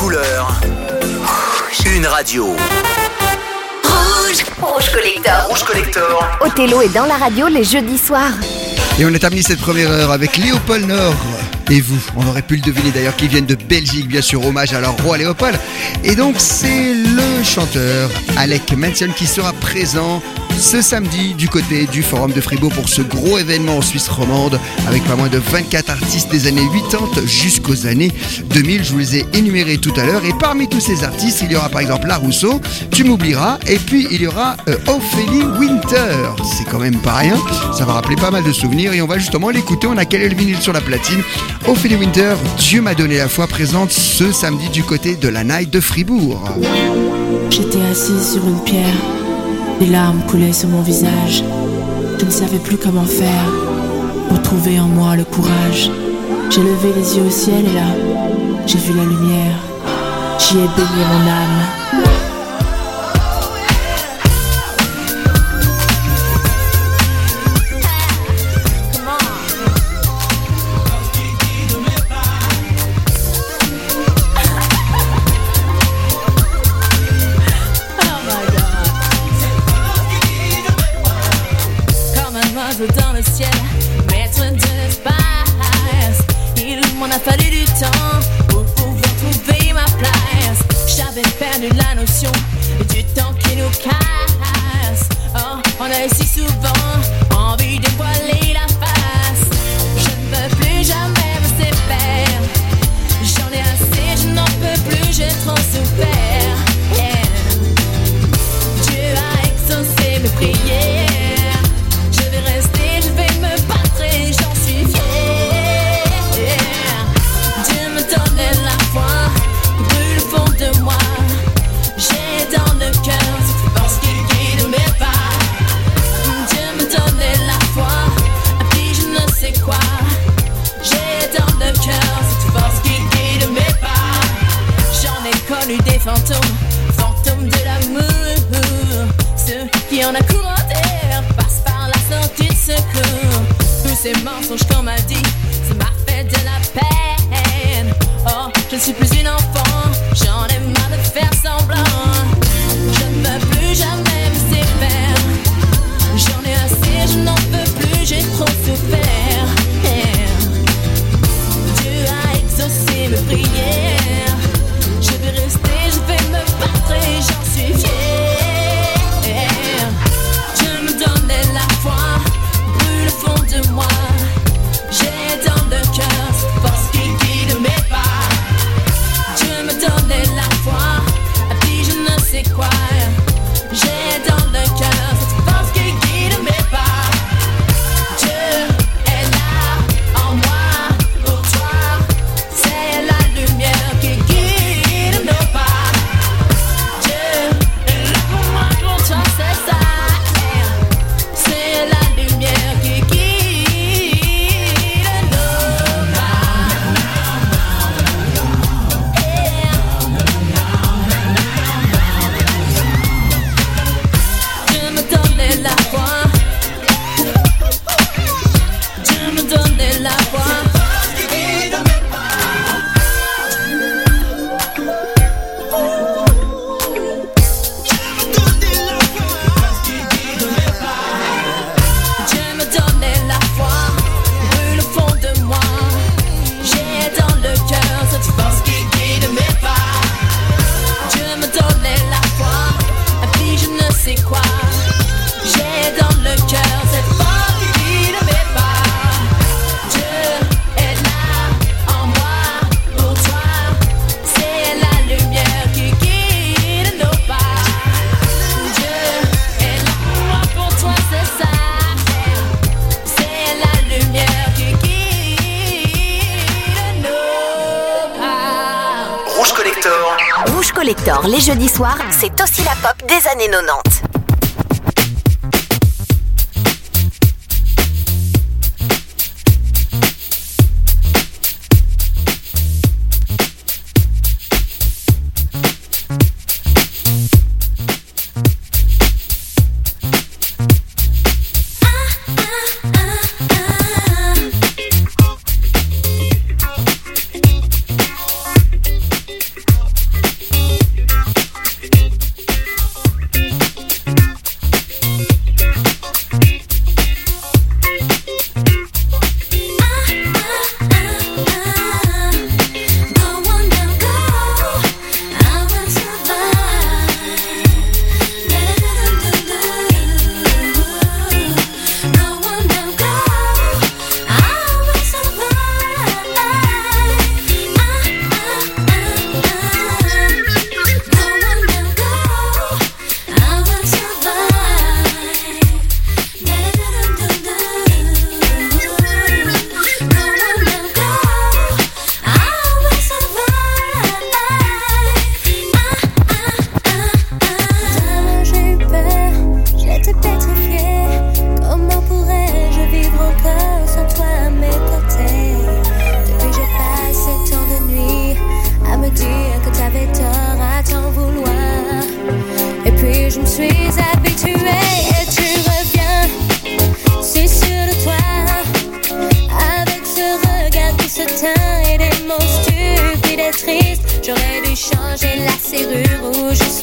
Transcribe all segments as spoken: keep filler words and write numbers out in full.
couleur, une radio. Rouge, Rouge Collector. Rouge Collector. Othello est dans la radio les jeudis soirs. Et on a terminé cette première heure avec Léopold Nord. Et vous, on aurait pu le deviner d'ailleurs, qu'ils viennent de Belgique, bien sûr, hommage à leur roi Léopold. Et donc c'est le chanteur Alec Manson qui sera présent ce samedi du côté du Forum de Fribourg pour ce gros événement en Suisse romande avec pas moins de vingt-quatre artistes des années quatre-vingt-dix jusqu'aux années deux mille. Je vous les ai énumérés tout à l'heure et parmi tous ces artistes, il y aura par exemple La Rousseau, Tu m'oublieras et puis il y aura euh, Ophélie Winter. C'est quand même pas rien, ça va rappeler pas mal de souvenirs et on va justement l'écouter. On a calé le vinyle sur la platine. Ophélie Winter, Dieu m'a donné la foi, présente ce samedi du côté de la Night de Fribourg. J'étais assise sur une pierre. Des larmes coulaient sur mon visage. Je ne savais plus comment faire pour trouver en moi le courage. J'ai levé les yeux au ciel et là, j'ai vu la lumière. J'y ai baigné mon âme. Dans le ciel, maître de l'espace, il m'en a fallu du temps pour pouvoir trouver ma place. J'avais perdu la notion du temps qui nous casse. Oh, on a si souvent envie de voiler la face. Je ne veux plus jamais me séparer. J'en ai assez, je n'en peux plus, j'ai trop souffert. Yeah. Dieu a exaucé mes prières. Des fantômes, fantômes de l'amour. Ceux qui en a courant terre passent par la sortie de secours. Tous ces mensonges qu'on m'a dit, ça m'a fait de la peine. Oh, je ne suis plus une enfant, j'en ai marre de faire semblant. Je ne veux plus jamais me séparer. J'en ai assez, je n'en peux plus, j'ai trop souffert. Yeah. Dieu a exaucé mes prières. Je vais rester, je vais me battre et j'en suis fière. Je me donnais la foi, brûle au fond de moi. J'ai dans le cœur cette force qui guide mes pas. Dieu me donnait la foi, et puis je ne sais quoi. J'ai dans le cœur cette force qui guide mes pas. Dieu est là en moi, pour toi. C'est la lumière qui guide. Collector, les jeudis soirs, c'est aussi la pop des années quatre-vingt-dix.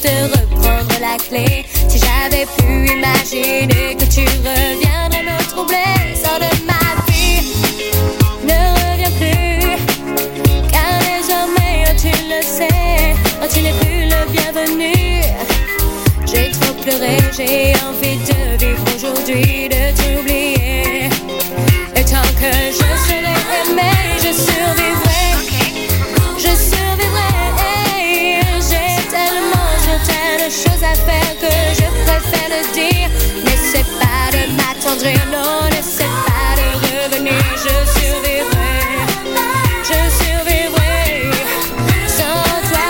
juste reprendre la clé. Si j'avais pu imaginer que tu reviendrais me troubler, sors de ma vie, ne reviens plus, car désormais, oh, tu le sais, oh, tu n'es plus le bienvenu. J'ai trop pleuré, j'ai envie de vivre aujourd'hui, de t'oublier. Et tant que je serai aimé, je survivrai, je survivrai. J'ai tellement, certaines choses à faire que je préfère le dire. N'essaie pas de m'attendrir, non, n'essaie pas de revenir. Je survivrai, je survivrai sans toi.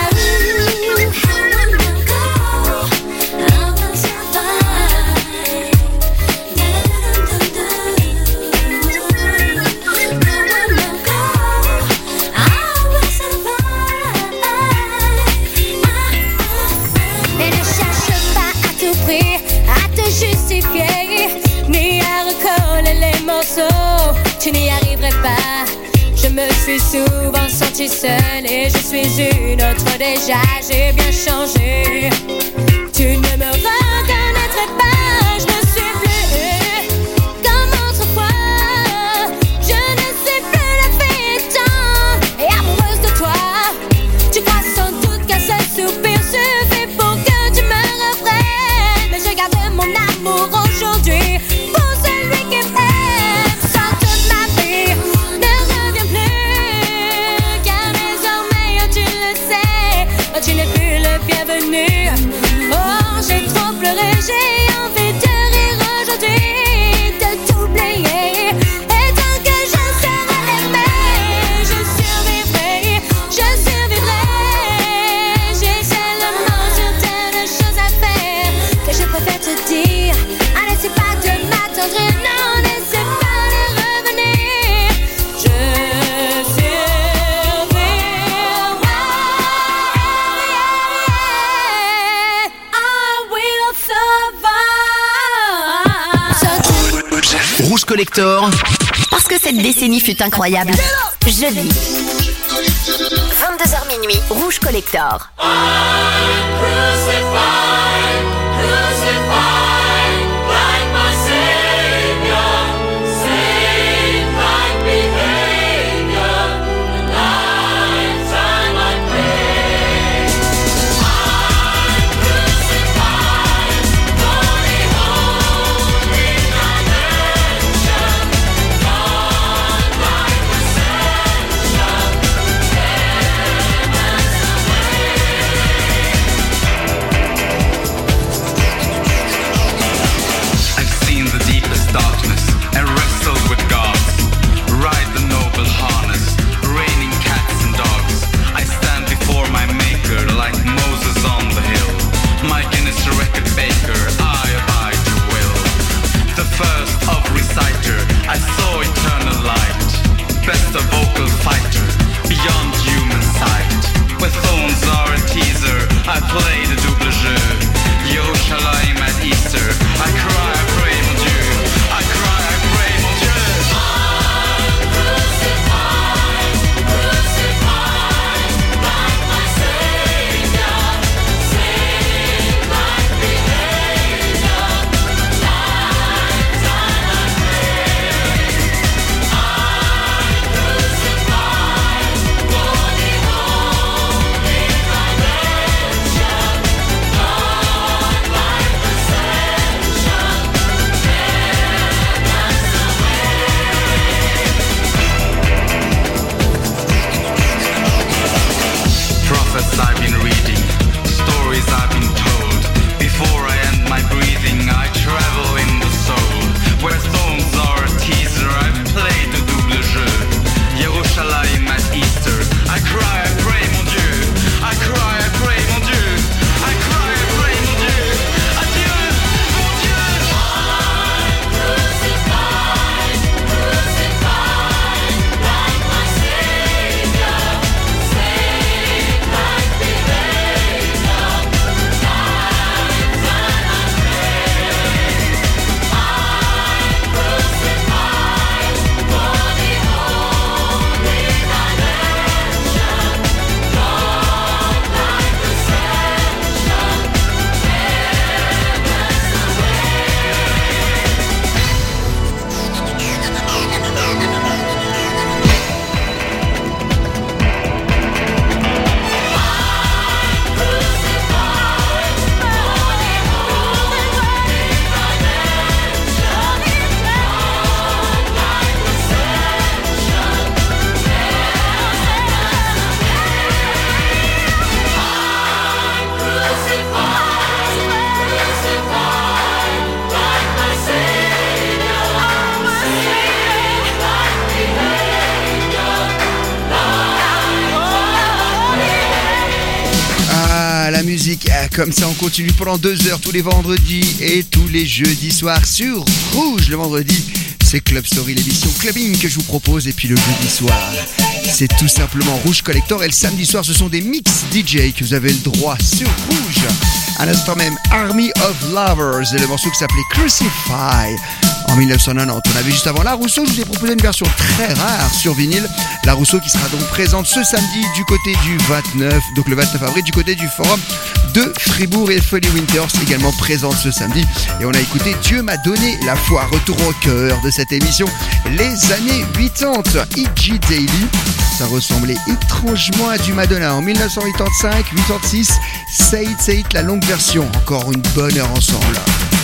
Et ne cherche pas à tout prix à te justifier, ni à recoller les morceaux. Tu n'y arriverais pas. Je me suis souvent sentie seule et je suis une autre déjà. J'ai bien changé. Tu ne me reconnaîtrais pas. Je ne suis plus comme autrefois. Je ne sais plus la fille étant et amoureuse de toi. Tu crois sans doute qu'un seul soupir suffit pour que tu me reprennes, mais je garde mon amour aujourd'hui pour celui qui m'aime. Sans toute ma vie, ne reviens plus, car désormais, oh, tu le sais, oh, tu n'es plus le bienvenu. Oh, j'ai trop pleuré, j'ai envie de rire aujourd'hui, de t'oublier. Et tant que je serai aimé, je survivrai, je survivrai. J'ai tellement certaines choses à faire que je préfère te dire. Ah, n'essaie pas de m'attendre, non, n'essaie pas de revenir. Je survivrai. I will survive. Rouge Collector, Parce que cette décennie fut incroyable. Jeudi, vingt-deux heures minuit, Rouge Collector. musique. Comme ça, on continue pendant deux heures tous les vendredis et tous les jeudis soirs sur Rouge. Le vendredi, c'est Club Story, l'émission Clubbing que je vous propose. Et puis le jeudi soir, c'est tout simplement Rouge Collector. Et le samedi soir, ce sont des mix D J que vous avez le droit sur Rouge. À l'instant même, Army of Lovers et le morceau qui s'appelait Crucify. En dix-neuf cent quatre-vingt-dix, on avait juste avant La Rousseau. Je vous ai proposé une version très rare sur vinyle. La Rousseau qui sera donc présente ce samedi du côté du vingt-neuf, donc le vingt-neuf avril, du côté du forum de Fribourg. Et Folly Winters également présente ce samedi. Et on a écouté Dieu m'a donné la foi. Retour au cœur de cette émission, les années quatre-vingt-dix. E G Daily, ça ressemblait étrangement à du Madonna. En dix-neuf cent quatre-vingt-cinq, quatre-vingt-six, Say It, Say It, la longue version. Encore une bonne heure ensemble.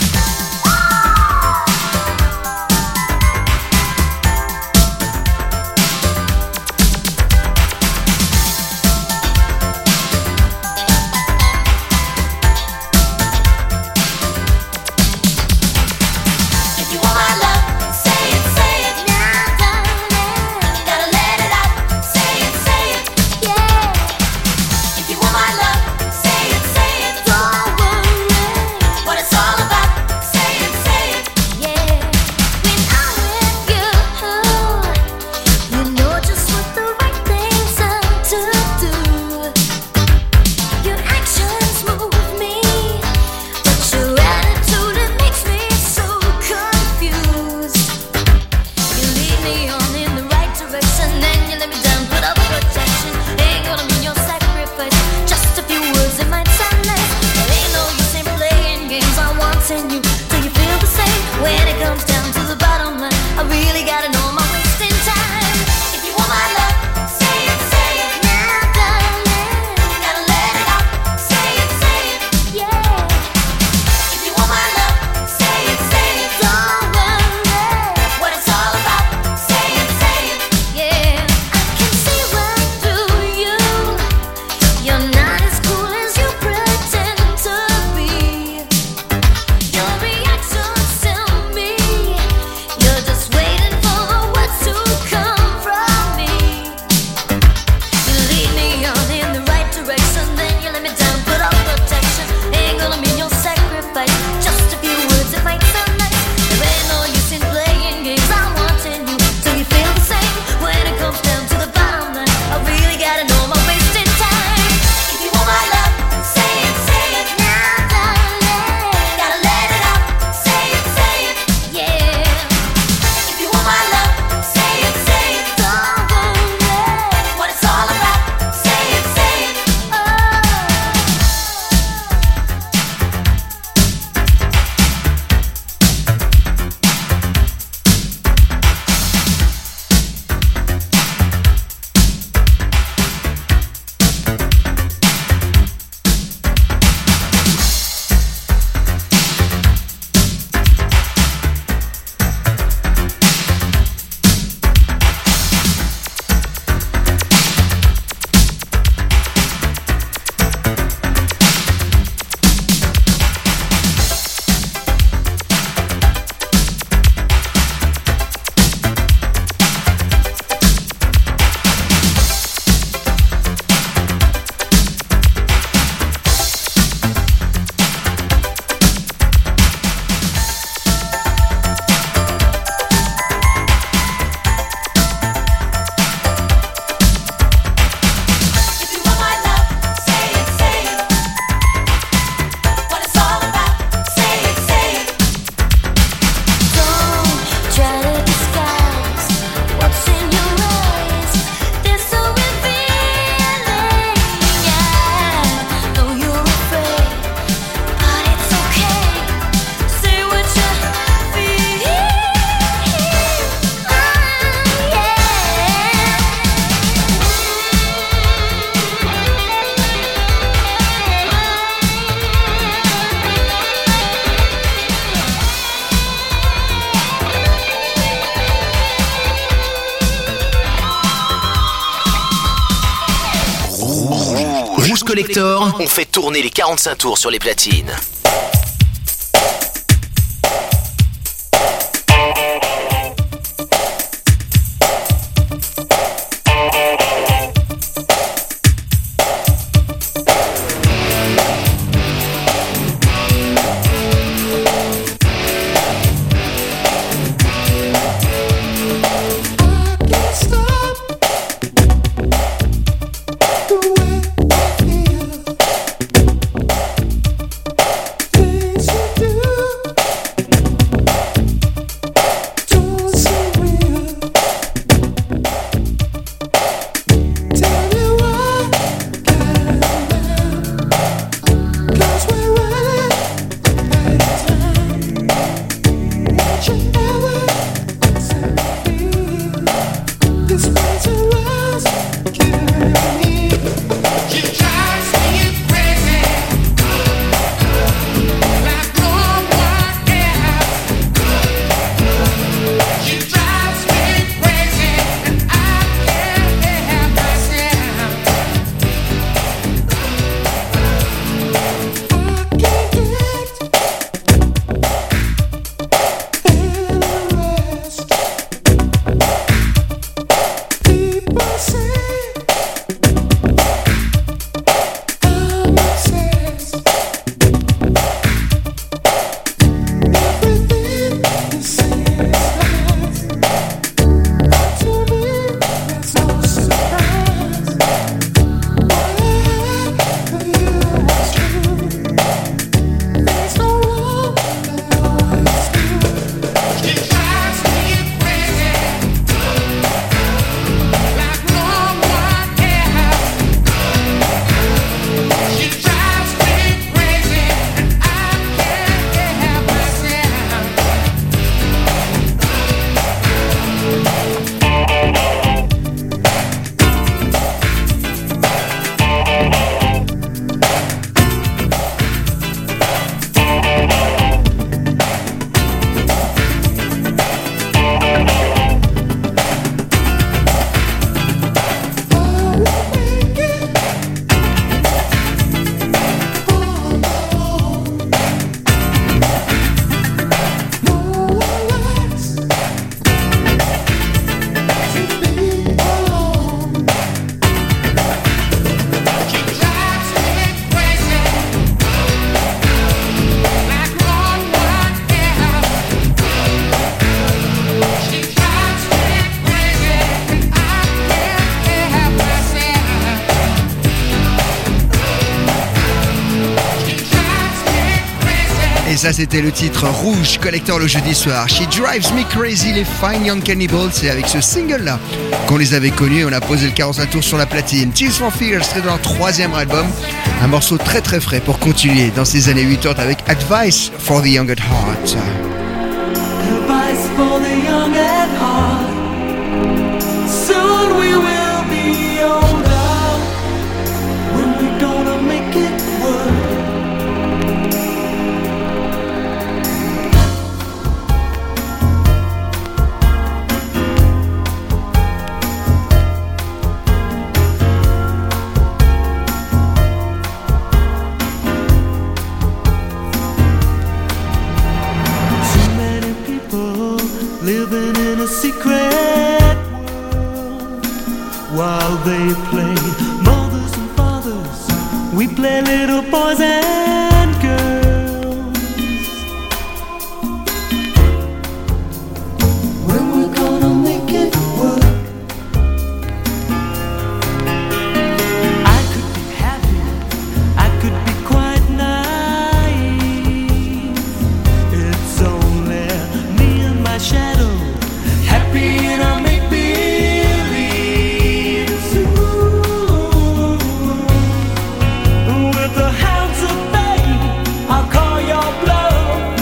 Collector, on fait tourner les quarante-cinq tours sur les platines. ça c'était le titre Rouge Collector le jeudi soir. She Drives Me Crazy, les Fine Young Cannibals. C'est avec ce single là qu'on les avait connus. On a posé le quarante-cinq tours sur la platine. Tears for Fears serait dans leur troisième album. Un morceau très très frais pour continuer dans ces années quatre-vingt avec Advice for the Young at Heart. Advice for the young at heart. Soon we will be older. When we gonna make it work? Living in a secret world while they play mothers and fathers, we play little boys and girls. When we're gonna make it work? I could be happy, I could be quite naive. It's only me and my shadow, happy in our make-believes. Ooh, with the hounds of fate, I'll call your bluff.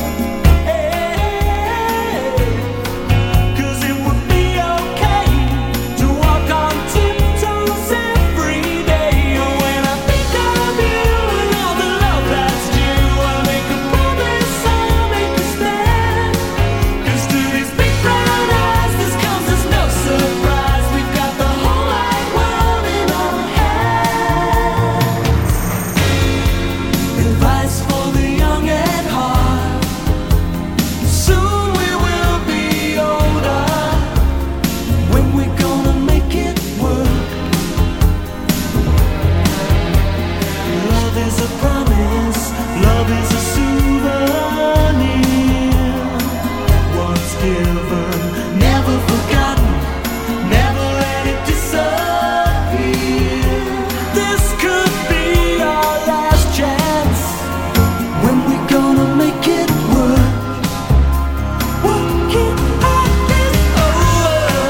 Hey, 'cause it would be okay to walk on tiptoes every day. When I think of you and all the love that's due, I make a promise, I'll make you stand. 'Cause to these big brown eyes, this comes as no surprise. We've got the whole wide world in our hands. Advice for the young at heart. Soon we will be older. When we gonna make it work? Love is a promise, love is a souvenir. Once given, never forgotten, never let it disappear. This could be our last chance. When we gonna make it work? Working at this over.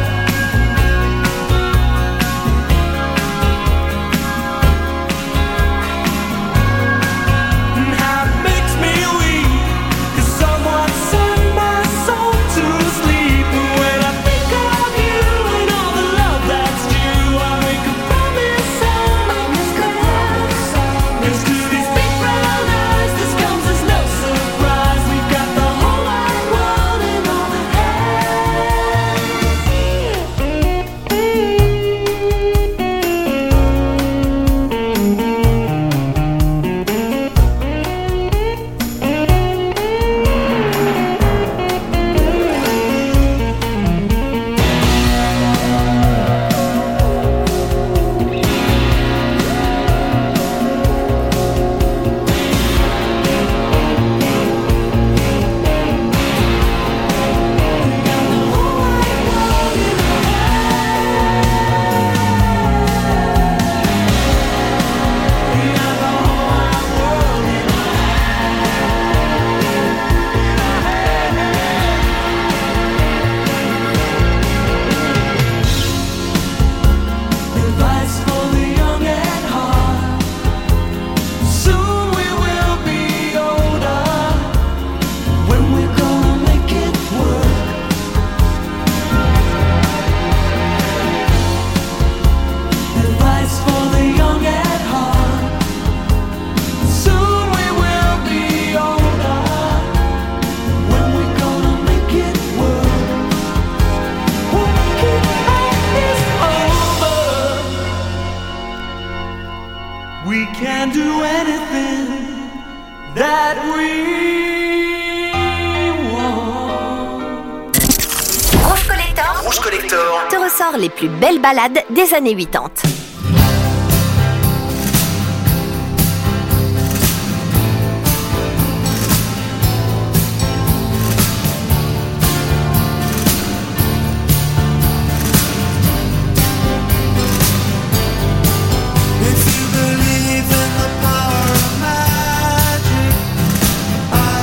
And how it makes me weak, 'cause someone sent my soul to sleep. And when I think of you and all the love that's due, I make a promise, I'll make you stand. 'Cause to these big brown eyes, this comes as no surprise. We've got the whole wide world in our Advice for the young at heart. Soon we will be older. When we're gonna make it work? Advice for the young at heart. Soon we will be older. When we're gonna make it work? Working at this over. We can do anything that we want. Rouge Collector Rouge Collector. te ressort les plus belles ballades des années quatre-vingt-dix. If you believe in the power of magic, I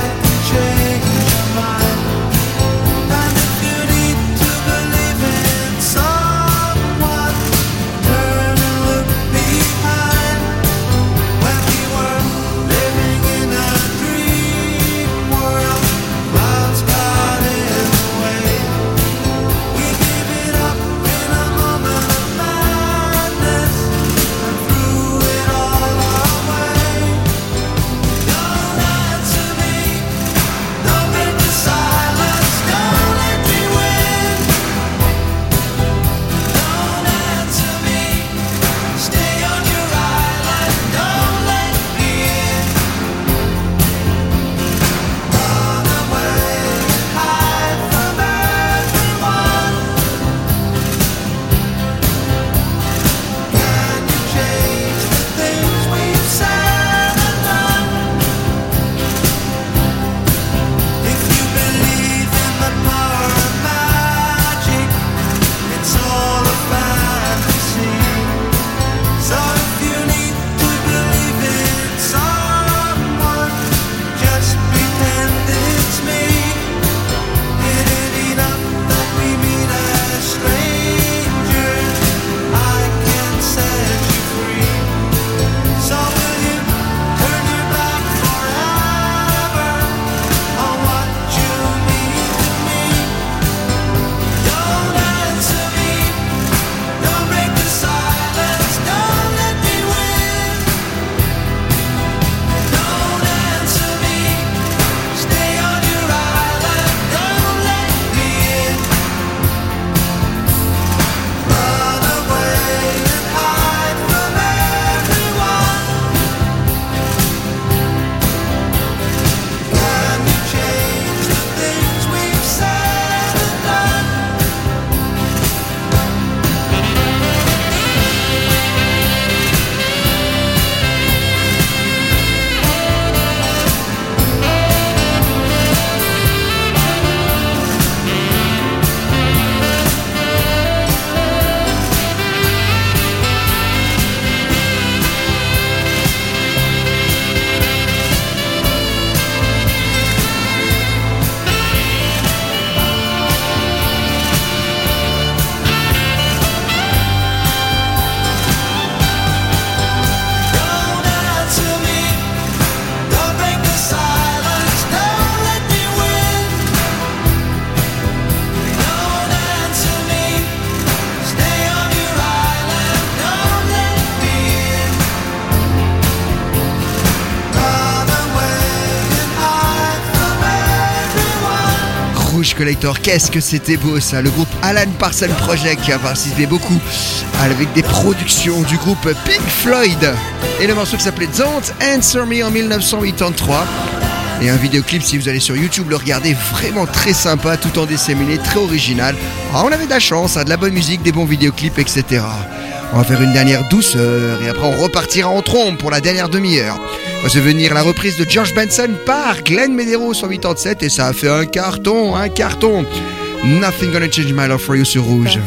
Collector. Qu'est-ce que c'était beau ça. Le groupe Alan Parsons Project qui a participé beaucoup avec des productions du groupe Pink Floyd. Et le morceau qui s'appelait Don't Answer Me en dix-neuf cent quatre-vingt-treize. Et un vidéoclip, si vous allez sur YouTube le regarder, vraiment très sympa, tout en disséminé, très original. Ah, on avait de la chance, hein, de la bonne musique, des bons vidéoclips, et cetera. On va faire une dernière douceur et après on repartira en trombe pour la dernière demi-heure. On va se venir la reprise de George Benson par Glenn Medeiros en quatre-vingt-dix-sept et ça a fait un carton, un carton. Nothing Gonna Change My Love For You sur Rouge.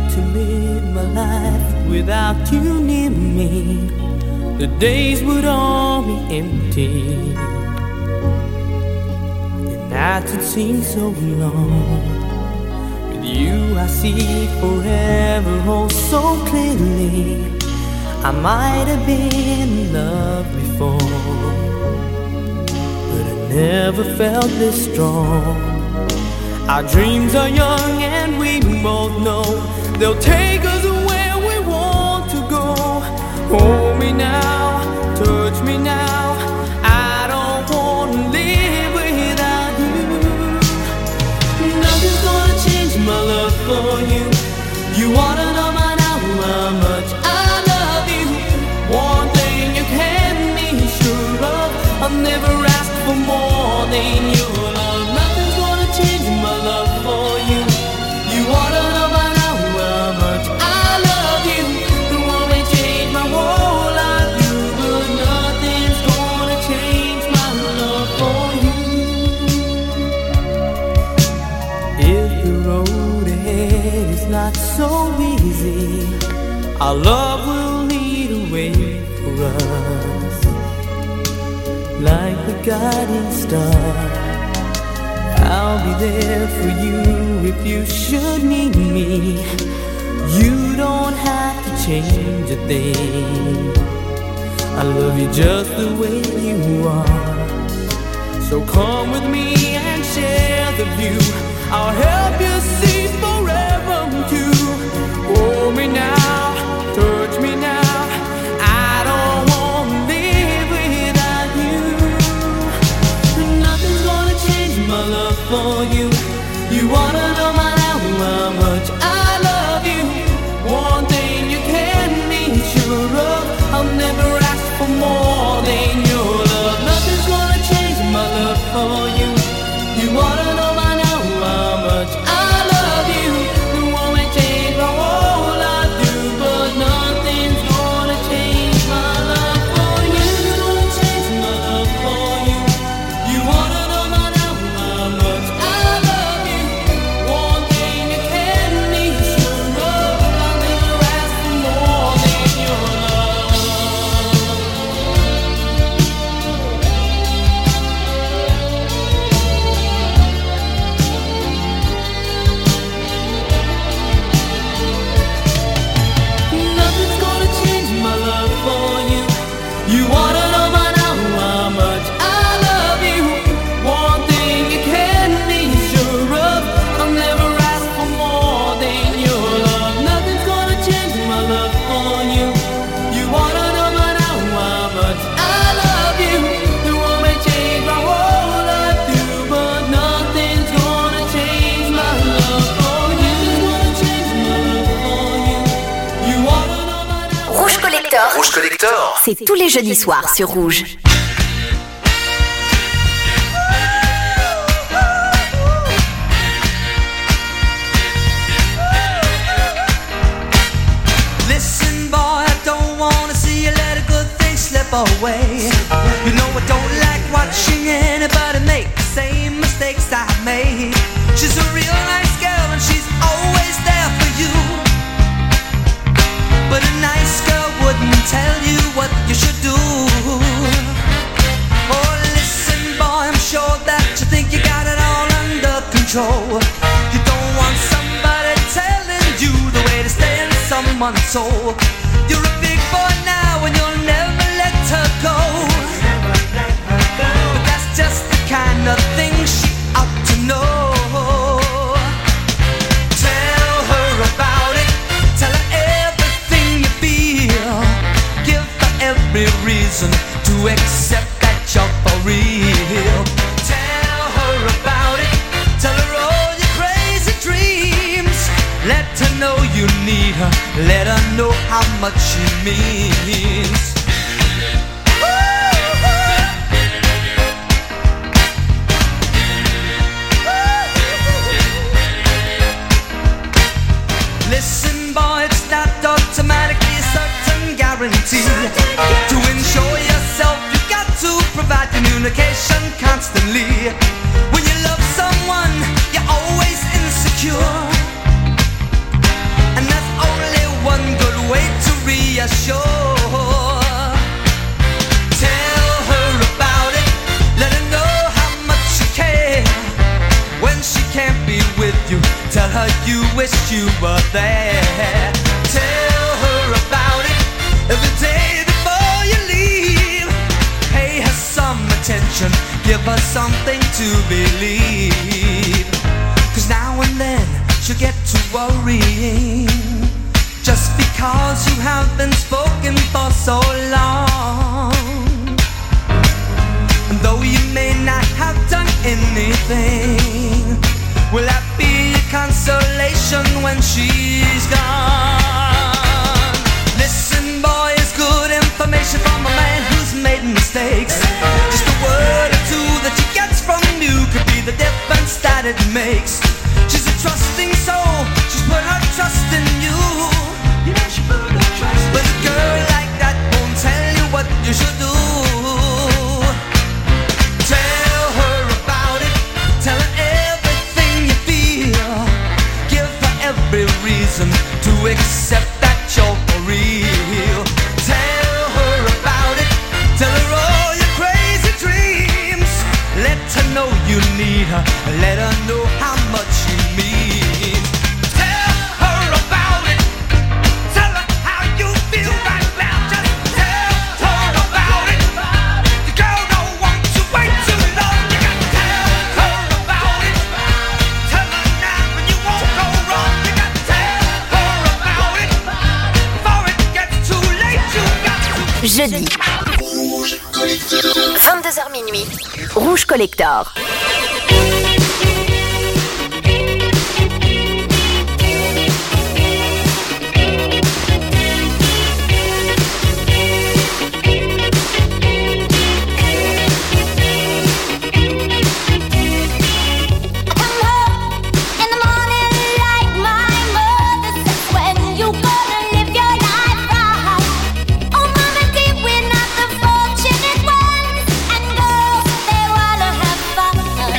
The days would all be empty. The nights would seem so long. With you I see forever oh so clearly. I might have been in love before, but I never felt this strong. Our dreams are young and we both know they'll take us where we want to go. Hold me now, touch me now. I don't want to live without you. Nothing's gonna change my love for you. You wanna know by now how much I love you. One thing you can be sure of, I'll never ask for more than your love. Nothing's gonna change my love for you. You wanna know by now how much I love you. The one may change my whole life, you, but nothing's gonna change my love for you. If the road ahead is not so easy, our love will lead a way for us, like the guiding star. I'll be there for you if you should need me. You don't have to change a thing. I love you just the way you are. So come with me and share the view. I'll help you see forever too. Hold me now, touch me now. I don't want to live without you. Nothing's gonna change my love for you. You wanna know my now how much I love you. One thing you can be sure of, I'll never ask for more than your love. Nothing's gonna change my love for you. You wanna know my now how much I love you. The one may change my whole life through, but nothing's gonna change my love for you. Nothing's gonna change my love for you. You wanna know my now how much I love you. One thing you can be sure of, I'll never ask for more than your love. Nothing's gonna change my love for you. You wanna know by now how much I love you. One thing you can be sure of, I'll never ask for more than your love. Nothing's gonna change my love for you. You wanna know by now how much I love you. The one may change my whole life through, but nothing's gonna change my love for you. Nothing's gonna change my love for you. You wanna know by now. Rouge Collector, Rouge Collector. c'est tous les jeudis soirs sur Rouge. Listen, boy, I don't wanna see you let a good thing slip away. You know I don't like watching anybody make the same mistakes I made. She's a real nice girl and she's always there for you. But a nice girl wouldn't tell you what you should do. Oh, listen, boy, I'm sure that you think you got it all under control. You don't want somebody telling you the way to stay in someone's soul. You're a big boy now and you'll never let her go. But that's just the kind of thing she ought to know. Tell her about it. Tell her everything you feel. Give her every reason to accept that you're for real. Tell her about it. Tell her all your her, let her know how much she means. Listen, boy, it's not automatically certain guarantee. To ensure yourself, you got to provide communication constantly. When you love someone, you're always insecure, and there's only one good way to reassure. Tell her about it, let her know how much you care. When she can't be with you, tell her you wish you were there. Tell her about it every day before you leave. Pay her some attention, give her something to believe. Cause now and then she'll get to worrying, just because you have been spoken for so long. And though you may not have done anything, will that be your consolation when she's gone? Listen, boy, it's good information from a man who's made mistakes. Just a word or two that she gets from you could be the difference that it makes. She's a trusting soul, she's put her trust in you. You know she put her trust in you. But a girl like that won't tell you what you should do. Tell her about it, tell her everything you feel. Give her every reason to accept that you're for real. Tell her about it, tell her all your crazy dreams. Let her know you need her, let her know how much you mean. Tell her about it, tell her how you feel right now. Just tell her about it. The girl don't want to wait too long. You got to tell her about it. Tell her now and you won't go wrong. You got to tell her about it before it gets too late. You got to. Jeudi. vingt-deux heures minuit. Rouge Collector. We're not the fortunate ones, and girls, they wanna have fun.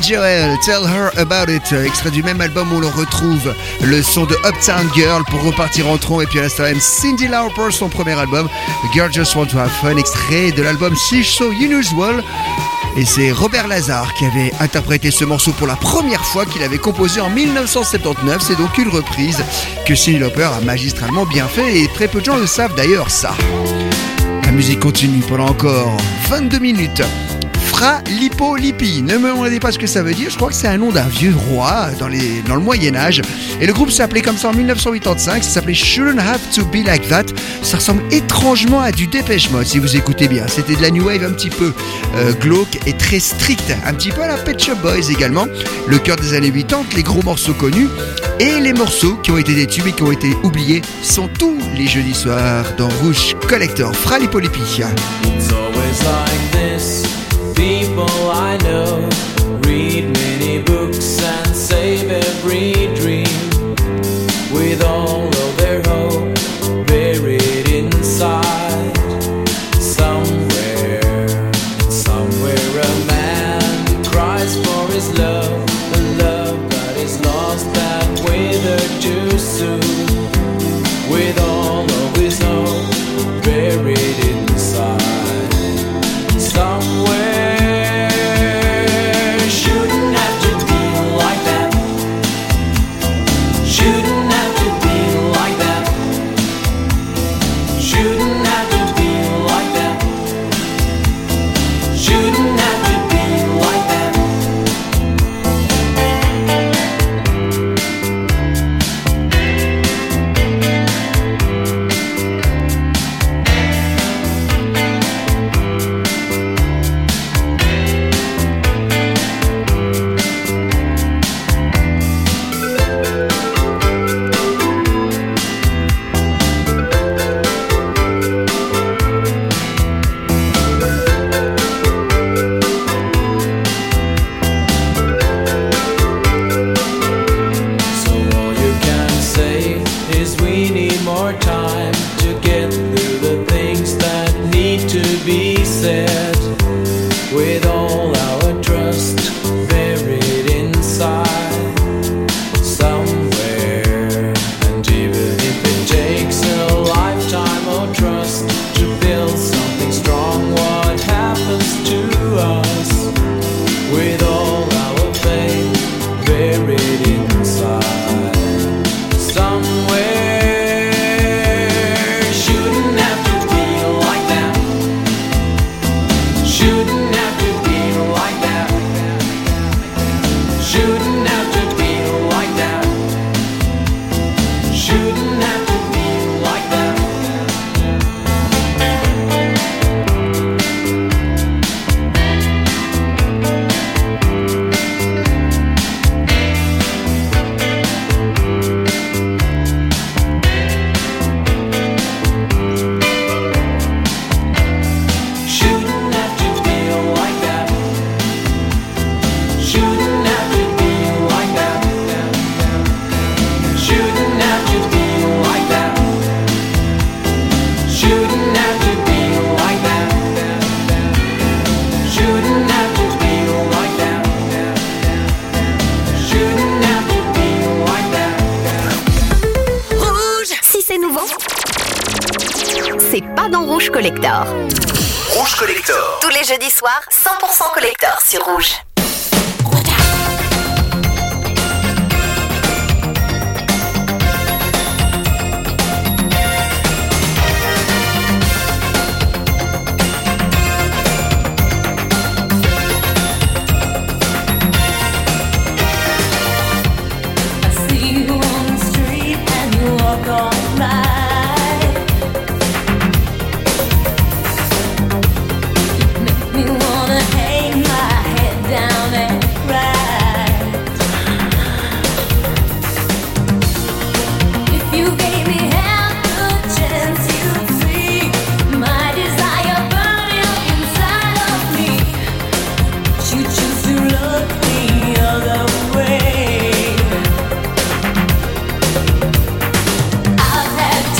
Joel, Tell Her About It, extrait du même album où l'on retrouve le son de Uptown Girl pour repartir en tronc, et puis à l'instant même Cyndi Lauper, son premier album, Girl Just Want to Have Fun, extrait de l'album She's So Unusual. Et c'est Robert Lazar qui avait interprété ce morceau pour la première fois, qu'il avait composé en dix-neuf cent soixante-dix-neuf. C'est donc une reprise que Cyndi Lauper a magistralement bien fait, et très peu de gens le savent d'ailleurs ça. La musique continue pendant encore vingt-deux minutes. Fra Lippo Lippi, ne me demandez pas ce que ça veut dire, je crois que c'est un nom d'un vieux roi dans, les, dans le Moyen-Âge. Et le groupe s'appelait comme ça en dix-neuf cent quatre-vingt-quinze, ça s'appelait Shouldn't Have to Be Like That. Ça ressemble étrangement à du Depeche Mode si vous écoutez bien. C'était de la new wave un petit peu euh, glauque et très stricte, un petit peu à la Pet Shop Boys également. Le cœur des années quatre-vingt-dix, les gros morceaux connus et les morceaux qui ont été des tubes et qui ont été oubliés sont tous les jeudis soirs dans Rouge Collector. Fra Lippo Lippi. It's always like this. People I know read many books and save every dream with all of their hope buried inside. Somewhere, somewhere a man cries for his love, a love that is lost and withered too soon. With all of his hope buried inside. Somewhere c'est pas dans Rouge Collector. Rouge Collector. Tous les jeudis soirs, cent pour cent Collector sur Rouge. I've had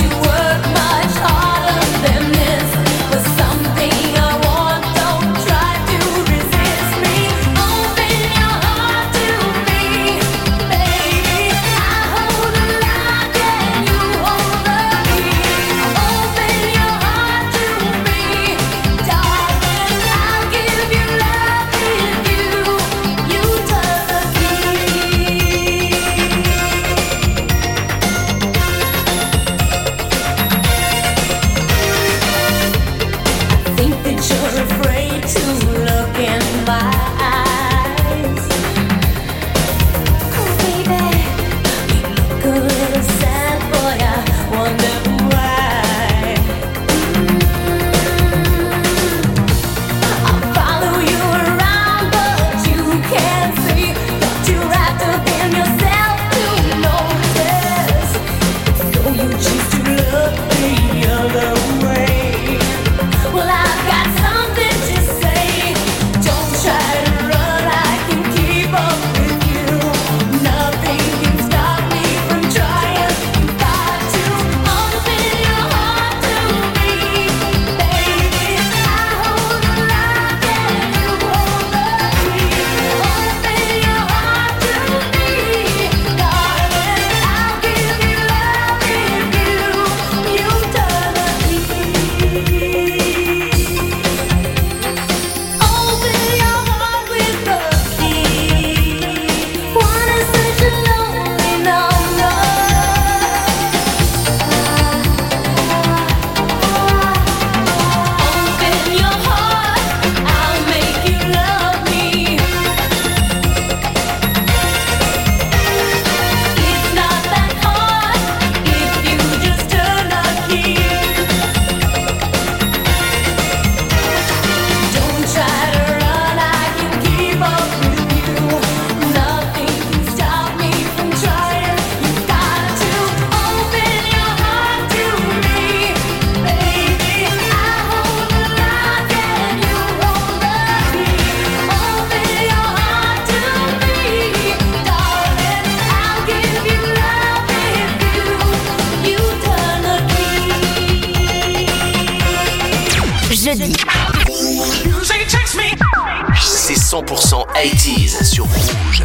cent pour cent quatre-vingt-dix sur Rouge.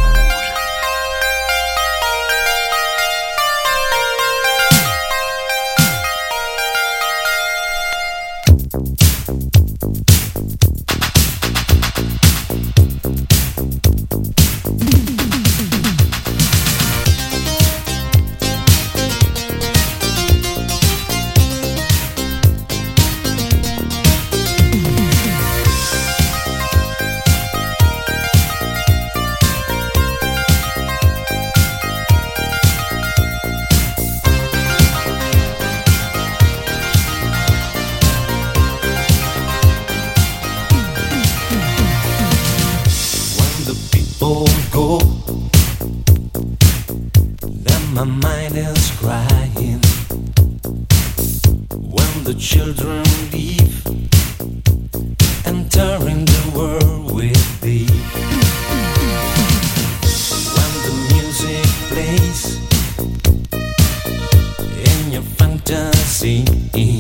My mind is crying when the children leave, entering the world with thee. When the music plays in your fantasy, in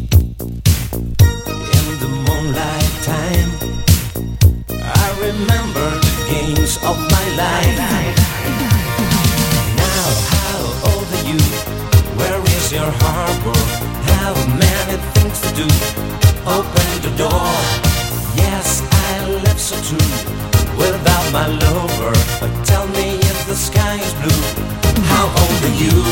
the moonlight time, I remember the games of my life. Where is your harbor? Have many things to do. Open the door. Yes, I live so true without my lover. But tell me if the sky is blue, how old are you?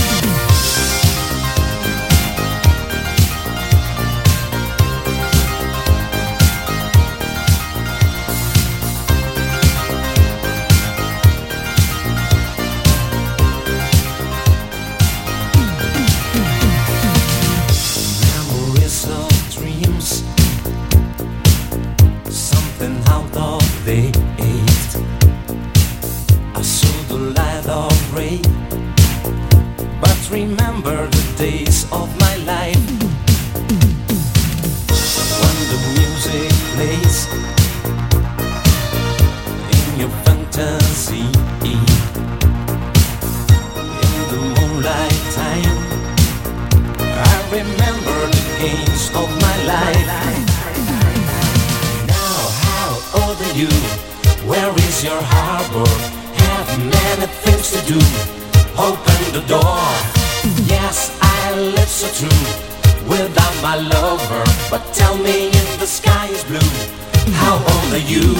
Remember the days of my life when the music plays in your fantasy, in the moonlight time. I remember the games of my life. Now, how old are you? Where is your harbor? Have many things to do. Open the door. Yes, I live so true without my lover. But tell me if the sky is blue, how old are you?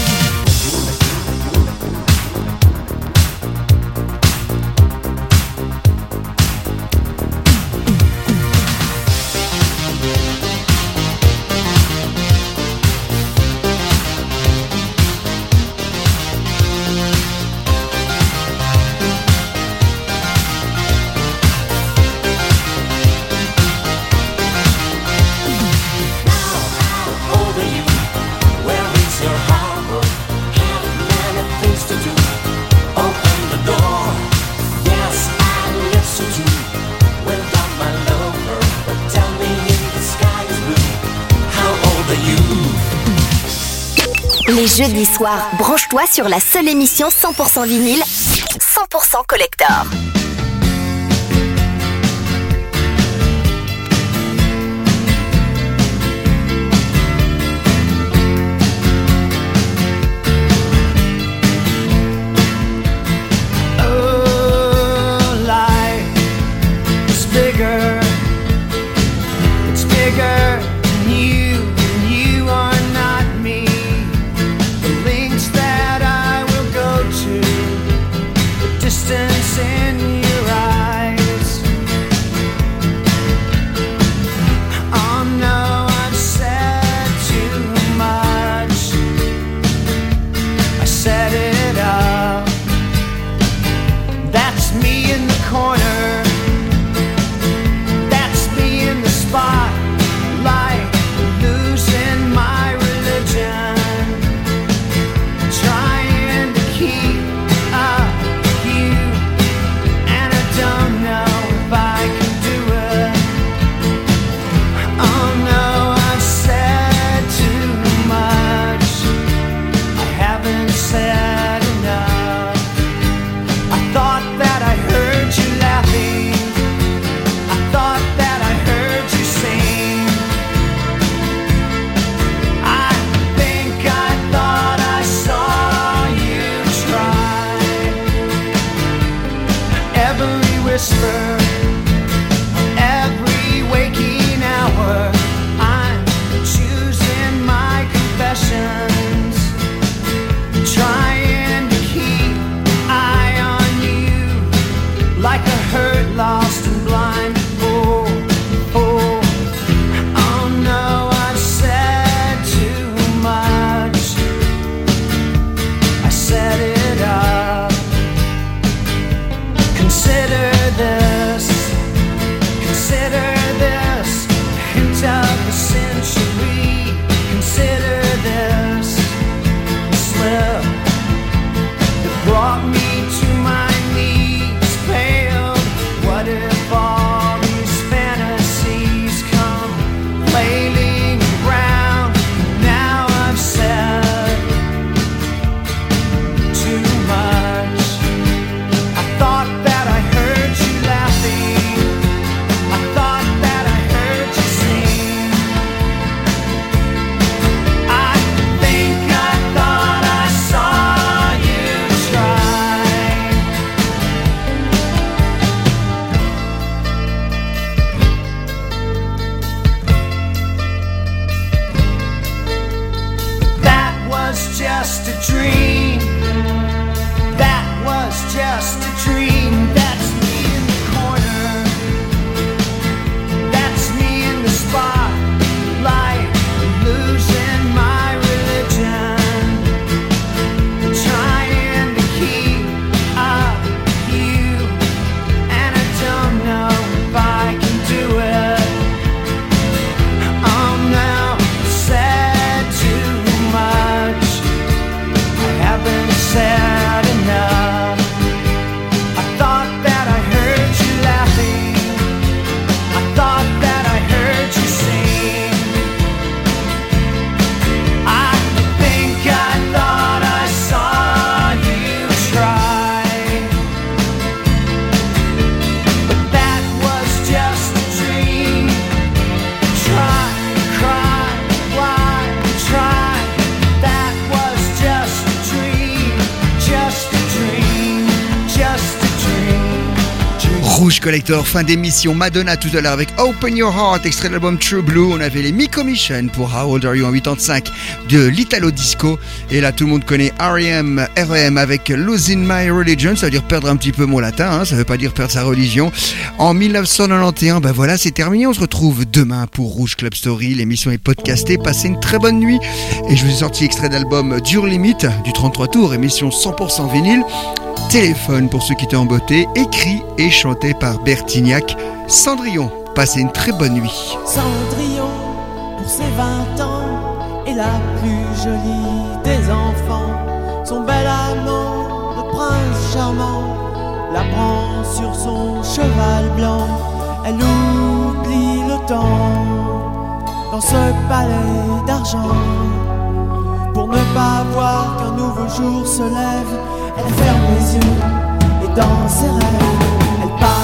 Les jeudis soirs, branche-toi sur la seule émission cent pour cent vinyle, cent pour cent collector. Corner, that's me in the spotlight. Collector, fin d'émission. Madonna tout à l'heure avec Open Your Heart, extrait de l'album True Blue. On avait les Mi-Commission pour How Old Are You en quatre-vingt-cinq de l'Italo Disco. Et là, tout le monde connaît R E M, R E M avec Losing My Religion. Ça veut dire perdre un petit peu mon latin, hein, ça veut pas dire perdre sa religion. En dix-neuf cent quatre-vingt-onze, ben voilà, c'est terminé. On se retrouve demain pour Rouge Club Story. L'émission est podcastée. Passez une très bonne nuit. Et je vous ai sorti extrait d'album Dure Limite du trente-trois tours, émission cent pour cent vinyle. Téléphone pour ceux qui étaient en beauté, écrit et chanté par Bertignac. Cendrillon, passez une très bonne nuit. Cendrillon, pour ses vingt ans, est la plus jolie des enfants. Son bel amant, le prince charmant, la prend sur son cheval blanc. Elle oublie le temps dans ce palais d'argent. Pour ne pas voir qu'un nouveau jour se lève, elle ferme les yeux et dans ses rêves, elle part.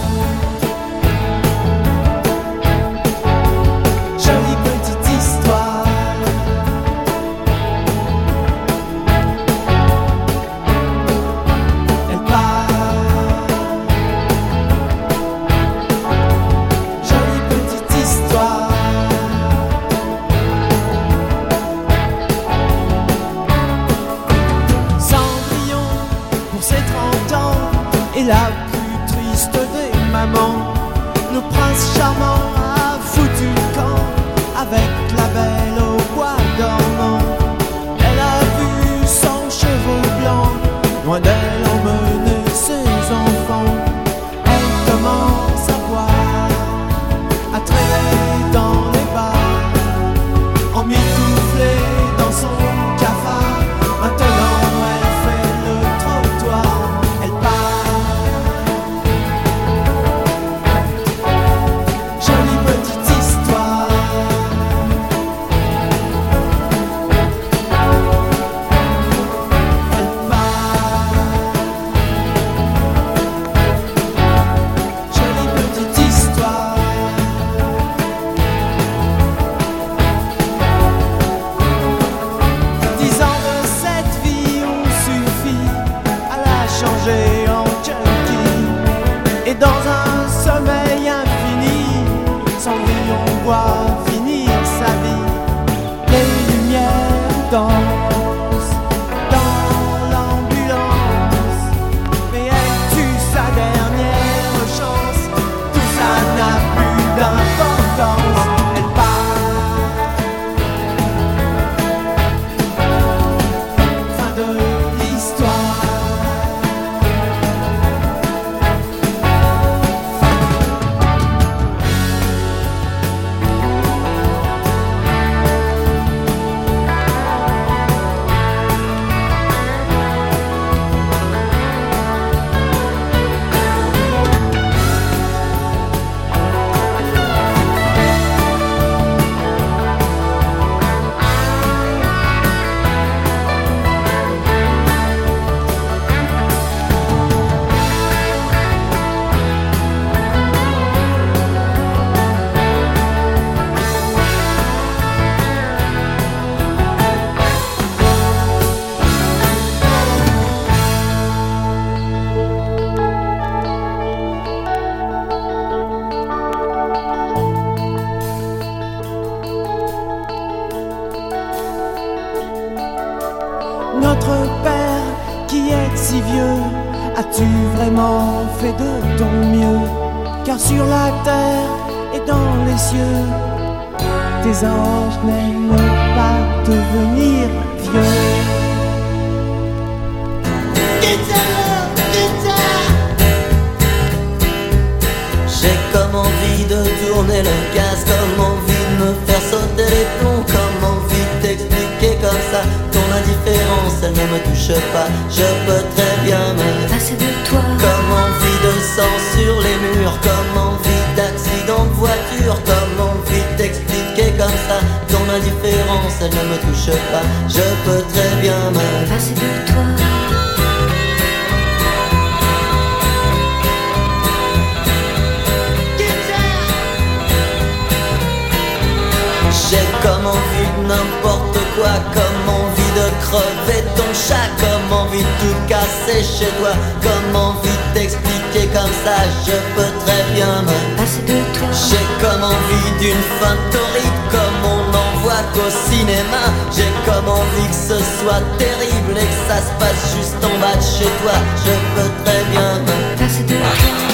Jolie petite histoire. Elle part. Jolie petite histoire. Et la plus triste des mamans, le prince charmant a foutu le camp avec la belle au bois dormant. Elle a vu son cheveu blanc, loin d'elle emmener ses enfants. Elle commence à boire, à traîner dans les bars, emmitouflée dans son cafard. Maintenant elle fait le trottoir, elle part. Dans un sommeil infini, Cendrillon voit finir sa vie. Les lumières dansent dans l'ambulance, mais elle tue sa dernière chance. Tout ça n'a plus d'importance. Elle part. Fin de l'histoire. Notre Père qui est si vieux, as-tu vraiment fait de ton mieux? Car sur la terre et dans les cieux, tes anges n'aiment pas devenir vieux. Guitare, guitare. J'ai comme envie de tourner le gaz, comme envie de me faire sauter les plombs, comme envie de t'expliquer comme ça ton indifférence, elle ne me touche pas. Je peux très bien me passer de toi. Comme envie de sang sur les murs, comme envie d'accident de voiture, comme envie de t'expliquer comme ça ton indifférence, elle ne me touche pas. Je peux très bien me passer de toi. J'ai comme envie de n'importe quoi, comme envie de crever ton chat, comme envie de tout casser chez toi, comme envie de t'expliquer comme ça, je peux très bien me passer de toi. J'ai comme envie d'une fin torride, comme on n'en voit qu'au cinéma. J'ai comme envie que ce soit terrible et que ça se passe juste en bas de chez toi. Je peux très bien me passer de toi.